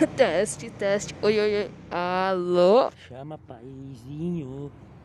Teste, teste. Oi, oi, oi. Alô? Chama paizinho.